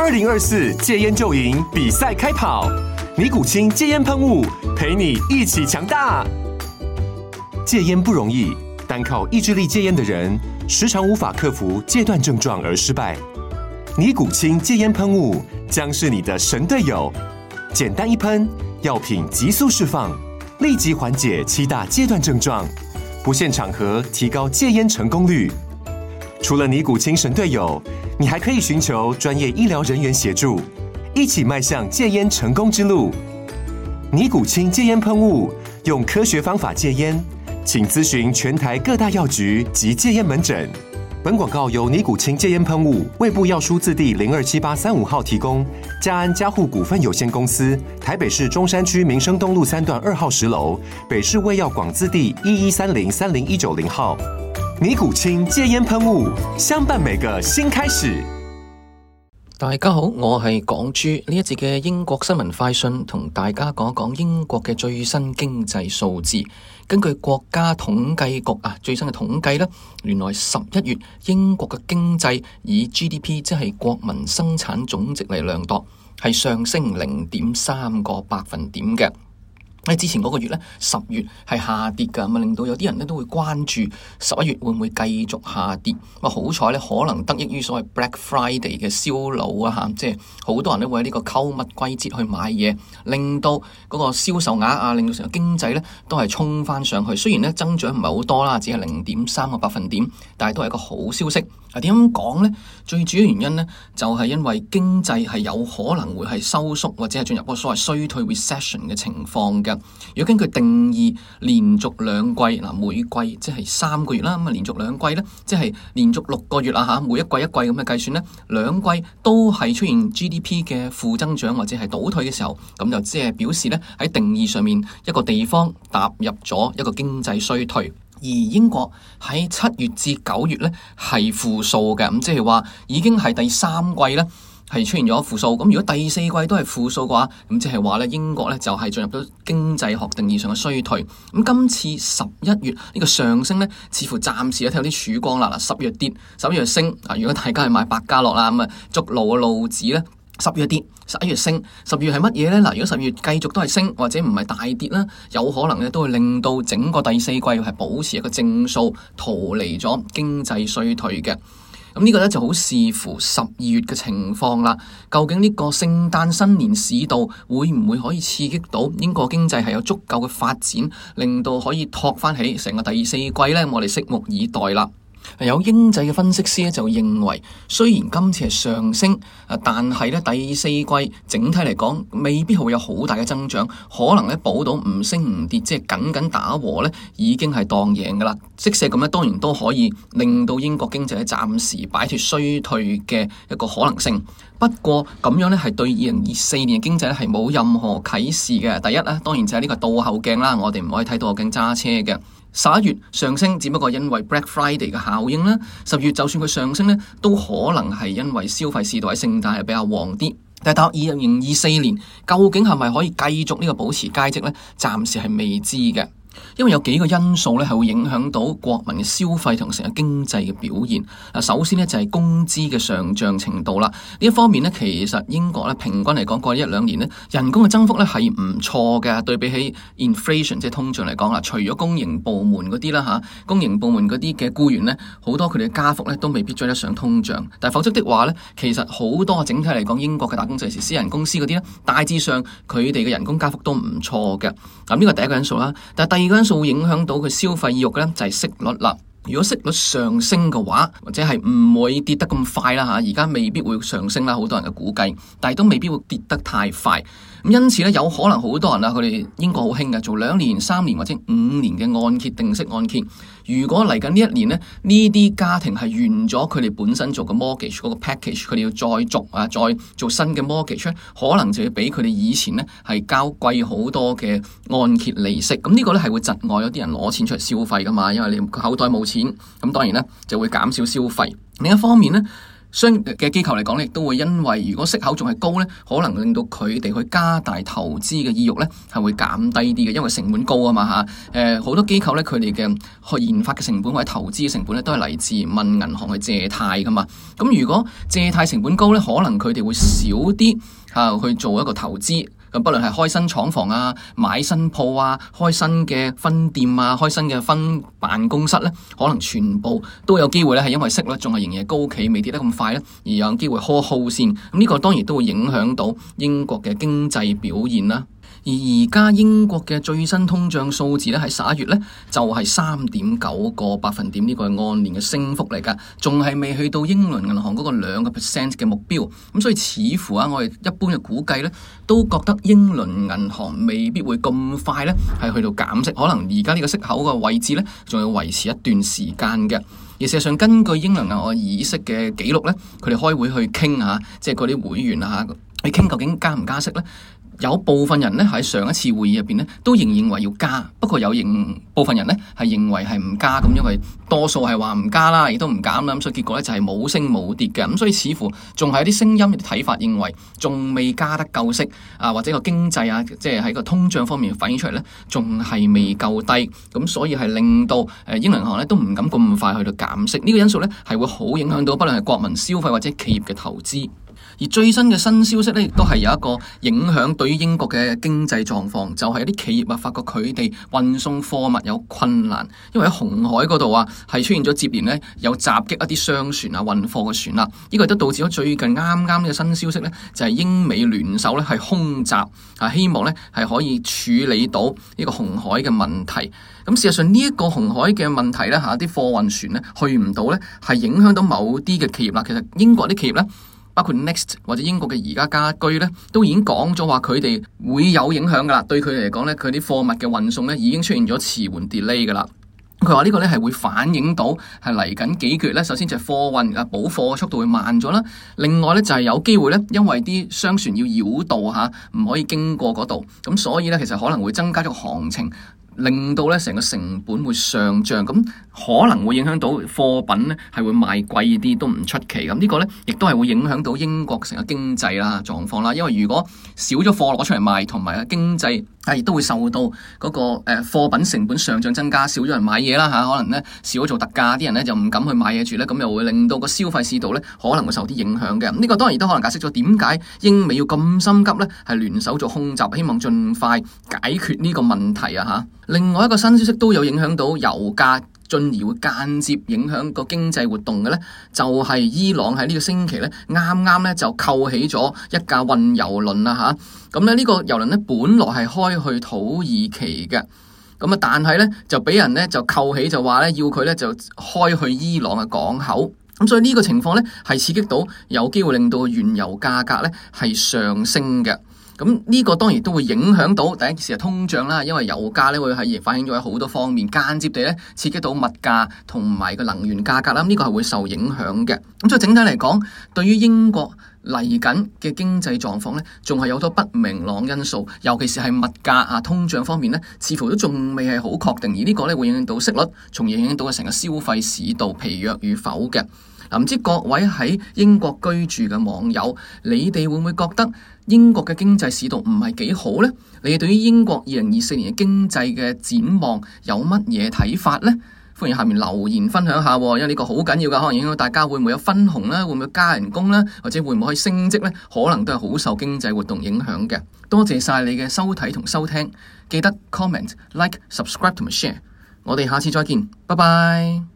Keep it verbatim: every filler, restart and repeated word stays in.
二零二四戒菸就贏比賽開跑，尼古清戒菸噴霧陪你一起強大。戒菸不容易，單靠意志力戒菸的人，時常無法克服戒斷症狀而失敗。尼古清戒菸噴霧將是你的神隊友，簡單一噴，藥品急速釋放，立即緩解七大戒斷症狀，不限場合提高戒菸成功率。除了尼古清神隊友，你還可以尋求專業醫療人員協助，一起邁向戒菸成功之路。尼古清戒菸噴霧，用科學方法戒菸，請諮詢全台各大藥局及戒菸門診。本廣告由尼古清戒菸噴霧、衛部藥書字第零二七八三五號提供。嘉安嘉護股份有限公司，台北市中山區民生東路三段二號十樓，北市衛藥廣字第一一三零三零一九零號。尼古清戒菸噴霧，相伴每個新開始。 大家好，我係港豬。呢一節嘅英國新聞快訊，同大家講一講英國嘅最新經濟數字。根據國家統計局啊最新嘅統計呢，原來十一月英國嘅經濟以 G D P 即係國民生產總值嚟量度，係上升零點三個百分點嘅。喺之前嗰個月咧，十月係下跌㗎，咁啊令到有啲人咧都會關注十一月會唔會繼續下跌。咁啊好彩咧，可能得益於所謂 Black Friday 嘅銷路啊嚇，即係好多人都會喺呢個購物季節去買嘢，令到嗰個銷售額啊，令到成個經濟咧都係衝翻上去。雖然咧增長唔係好多啦，只係零點三個百分點，但係都係一個好消息。啊點樣講咧？最主要原因咧就係因為經濟係有可能會係收縮或者係進入嗰個所謂衰退 recession 嘅情況嘅。如果根據定義，連續兩季嗱，每季即係三個月啦，咁啊連續兩季咧，即係連續六個月啦嚇，每一季一季咁嘅計算咧，兩季都係出現 G D P 嘅負增長或者係倒退嘅時候，咁就即係表示咧喺定義上面一個地方踏入咗一個經濟衰退。而英國喺七月至九月咧係負數嘅，咁即係話已經係第三季咧係出現咗負數。咁如果第四季都係負數嘅話，咁即係話咧英國咧就係進入咗經濟學定義上嘅衰退。咁今次十一月呢個上升咧，似乎暫時咧睇到啲曙光啦。嗱，十月跌，十一月升。啊，如果大家係買百家樂啦，咁啊捉路嘅路子咧。十月跌，十一月升，十月係乜嘢呢？嗱，如果十月繼續都係升，或者唔係大跌啦，有可能咧都會令到整個第四季係保持一個正數，逃離咗經濟衰退嘅。咁呢個咧就好視乎十二月嘅情況啦。究竟呢個聖誕新年市道會唔會可以刺激到英國經濟係有足夠嘅發展，令到可以托翻起成個第四季呢？我哋拭目以待啦。有英制嘅分析師咧就認為，雖然今次係上升，但係咧第四季整體嚟講未必會有好大嘅增長，可能咧保到唔升唔跌，即係緊緊打和咧已經係當贏噶啦。即使咁咧，當然都可以令到英國經濟咧暫時擺脫衰退嘅一個可能性。不過咁樣咧係對二零二四年嘅經濟咧係冇任何啟示嘅。第一咧，當然就係呢個倒後鏡啦，我哋唔可以睇倒後鏡揸車嘅。十一月上升，只不過因為 Black Friday 嘅效應啦。十月就算佢上升咧，都可能係因為消費市道喺聖誕係比較旺啲。但係到二零二四年，究竟係咪可以繼續呢個保持佳績咧？暫時係未知嘅。因為有幾個因素咧係會影響到國民嘅消費同成個經濟嘅表現。嗱，首先咧就係工資嘅上漲程度啦。呢一方面咧，其實英國咧平均嚟講過去一兩年咧，人工嘅增幅咧係唔錯嘅。對比起 inflation 即係通脹嚟講啦，除咗公營部門嗰啲啦吓，公營部門嗰啲嘅僱員咧，好多佢哋嘅加幅咧都未必追得上通脹。但係否則的話咧，其實好多整體嚟講，英國嘅打工仔是私人公司嗰啲咧，大致上佢哋嘅人工加幅都唔錯嘅。咁呢個第一個因素啦。但係第二個因素會影響到佢消費意欲嘅咧，就係息率啦。如果息率上升嘅話，或者係唔會跌得咁快啦吓，而家未必會上升啦，好多人嘅估計，但係都未必會跌得太快。咁因此咧，有可能好多人啊，佢哋英國好興嘅，做兩年、三年或者五年嘅按揭定息按揭。如果嚟緊呢一年咧，呢啲家庭係完咗佢哋本身做嘅 mortgage 嗰個 package，佢哋要再續啊，再做新嘅 mortgage，可能就要比佢哋以前咧係交貴好多嘅按揭利息。咁呢個咧係會窒礙有啲人攞錢出嚟消費噶嘛，因為你口袋冇錢，咁當然咧就會減少消費。另一方面咧， 商業嘅機構嚟講咧，亦都會因為如果息口仲係高咧，可能令到佢哋去加大投資嘅意欲咧，係會減低啲嘅，因為成本高啊嘛嚇。誒、呃、好多機構咧，佢哋嘅去研發嘅成本或者投資嘅成本咧，都係嚟自問銀行去借貸噶嘛。咁如果借貸成本高咧，可能佢哋會少啲嚇去做一個投資。咁不論係開新廠房啊、買新鋪啊、開新嘅分店啊、開新嘅分辦公室咧，可能全部都有機會咧，係因為息率仲係仍然高企，未跌得咁快咧，而有機會 hold hold 先。咁呢個當然都會影響到英國嘅經濟表現啦。而而家英國嘅最新通脹數字咧，喺十一月咧就係三點九個百分點，呢個係按年嘅升幅嚟㗎，仲係未去到英倫銀行嗰個兩個 percent 嘅目標。咁所以似乎啊，我哋一般嘅估計咧，都覺得英倫銀行未必會咁快咧係去到減息，可能而家呢個息口嘅位置咧，仲要維持一段時間嘅。而事實上，根據英倫銀行議息嘅記錄咧，佢哋開會去傾下，即係嗰啲會員啊去傾究竟加唔加息咧。有部分人咧喺上一次會議入邊咧都仍認為要加，不過有認部分人咧係認為係唔加咁，因為多數係話唔加啦，亦都唔減啦，咁所以結果咧就係冇升冇跌嘅。咁所以似乎仲係有啲聲音、有啲睇法認為仲未加得夠息啊，或者個經濟啊，即係喺個通脹方面反映出嚟咧，仲係未夠低，咁所以係令到誒英倫銀行咧都唔敢咁快去到減息。呢個因素咧係會好影響到不論係國民消費或者企業嘅投資。而最新嘅新消息咧，亦都係有一個影響對於英國嘅經濟狀況，就係有啲企業啊，發覺佢哋運送貨物有困難，因為喺紅海嗰度啊，係出現咗接連咧有襲擊一啲商船啊、運貨嘅船啦。呢個亦都導致咗最近啱啱嘅新消息咧，就係英美聯手咧係空襲啊，希望咧係可以處理到呢個紅海嘅問題。咁事實上呢一個紅海嘅問題咧嚇，啲貨運船咧去唔到咧，係影響到某啲嘅企業啦。其實英國啲企業咧，包括 Next 或者英國嘅宜家家居咧，都已經講咗話佢哋會有影響噶啦。對佢哋嚟講咧，佢啲貨物嘅運送咧已經出現咗遲緩 delay 噶啦。佢話呢個咧係會反映到係嚟緊幾個月咧，首先就係貨運啊補貨嘅速度會慢咗啦。另外咧就係有機會咧，因為啲商船要繞道嚇，唔可以經過嗰度，咁所以咧其實可能會增加咗行程，令到咧成個成本會上漲，咁可能會影響到貨品咧係會賣貴啲都唔出奇。咁呢個咧亦都係會影響到英國成個經濟啦狀況啦。因為如果少咗貨攞出嚟賣，同埋經濟係亦都會受到嗰個誒貨品成本上漲增加，少咗人買嘢啦嚇，可能咧少咗做特價，啲人咧就唔敢去買嘢住咧，咁又會令到個消費市道咧可能會受啲影響嘅。呢個當然都可能解釋咗點解英美要咁心急咧，係聯手做空襲，希望盡快解決呢個問題啊嚇。另外一個新消息都有影響到油價，進而會間接影響個經濟活動嘅咧，就係伊朗喺呢個星期咧啱啱咧就扣起咗一架運油輪啦嚇。咁咧呢個油輪咧本來係開去土耳其嘅，咁啊但係咧就俾人咧就扣起，就話咧要佢咧就開去伊朗嘅港口。咁所以呢個情況咧係刺激到有機會令到原油價格咧係上升嘅。咁呢個當然都會影響到第一件事係通脹啦，因為油價咧會係反映咗喺好多方面，間接地咧刺激到物價同埋個能源價格啦，呢個係會受影響嘅。咁所以整體嚟講，對於英國嚟緊嘅經濟狀況咧，仲係有好多不明朗因素，尤其是係物價啊、通脹方面咧，似乎都仲未係好確定，而呢個咧會影響到息率，從而影響到成個消費市道疲弱與否嘅。嗱，唔知各位喺英國居住嘅網友，你哋會唔會覺得英國嘅經濟市道唔係幾好呢？你哋對於英國二零二四年嘅經濟嘅展望有乜嘢睇法呢？歡迎下面留言分享下，因為呢個好緊要㗎，可能影響到大家會唔會有分紅啦，會唔會加人工啦，或者會唔會可以升職呢？可能都係好受經濟活動影響嘅。多謝晒你嘅收睇同收聽，記得 comment、like、subscribe 同埋 share。我哋下次再見，拜拜。